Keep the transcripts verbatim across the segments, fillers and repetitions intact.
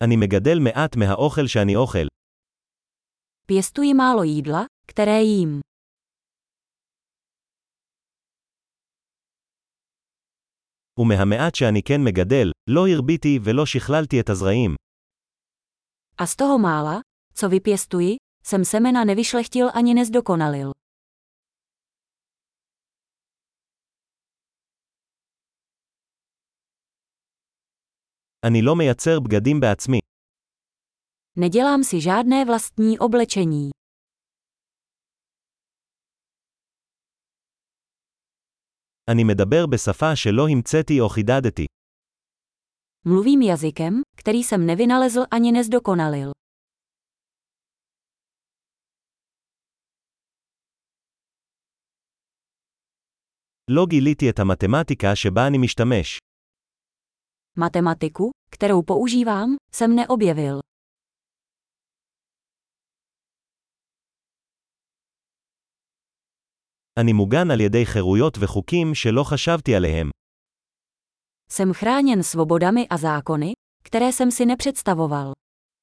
אני מגדל מעט מהאוכל שאני אוכל. Pěstuji málo jídla, které jím. ומהמעט שאני כן מגדל, לא הרביתי ולא שכללתי את הזרעים. A z toho mála, co vypěstuji, jsem semena nevyšlechtil ani nezdokonalil. אני לא מייצר בגדים בעצמי. Nedělám si žádné vlastní oblečení. אני מדבר בשפה שלא המצאתי או חידדתי. Mluvím jazykem, který jsem nevynalezl ani nezdokonalil. לא גיליתי את המתמטיקה שבה אני משתמש. Matematiku, kterou používám, jsem neobjevil. אני מוגן על ידי חירויות וחוקים שלא חשבתי עליהם. Jsem chráněn svobodami a zákony, které jsem si nepředstavoval.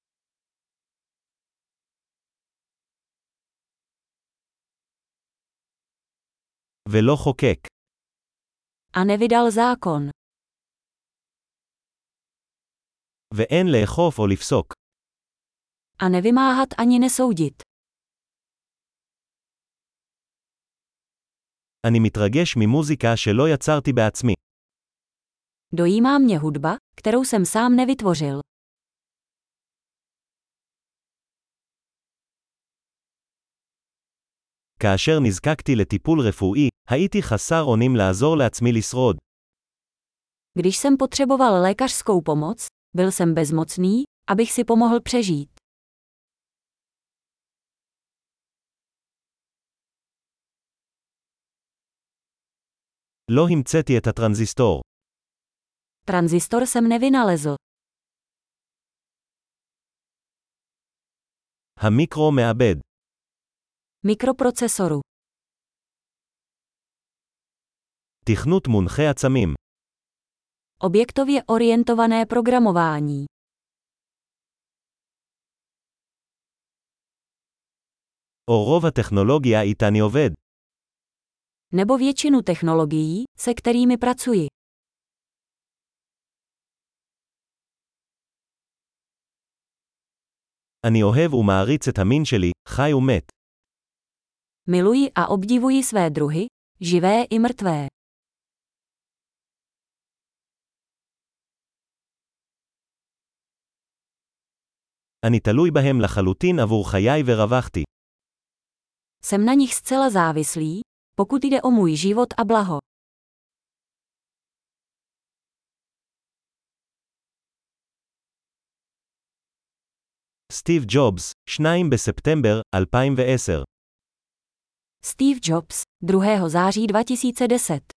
ולא חוקק. A nevydal zákon. ואין לאכוף או לפסוק. A nevymáhat ani nesoudit. אני מתרגש ממוזיקה שלא יצרתי בעצמי. Dojímá mě hudba, kterou jsem sám nevytvořil. כאשר נזקקתי לטיפול רפואי, הייתי חסר אונים לעזור לעצמי לשרוד. Když jsem potřeboval lékařskou pomoc, byl jsem bezmocný, abych si pomohl přežít. לא המצאתי את הטרנזיסטור. Tranzistor jsem nevynalezl. המיקרו מעבד. Mikroprocesoru. תכנות מונחה עצמים. Objektově orientované programování. או רוב הטכנולוגיה איתה אני עובד. Nebo většinu technologií, se kterými pracuji. אני אוהב ומעריץ את המין שלי, חי ומת. Miluji a obdivuji své druhy, živé i mrtvé. אני תלוי בהם לחלוטין עבור חיי ורווחתי. Jsem na nich zcela závislý, pokud jde o můj život a blaho. סטיב ג'ובס, השני בספטמבר אלפיים ועשר. Steve Jobs, druhého září dva tisíce deset.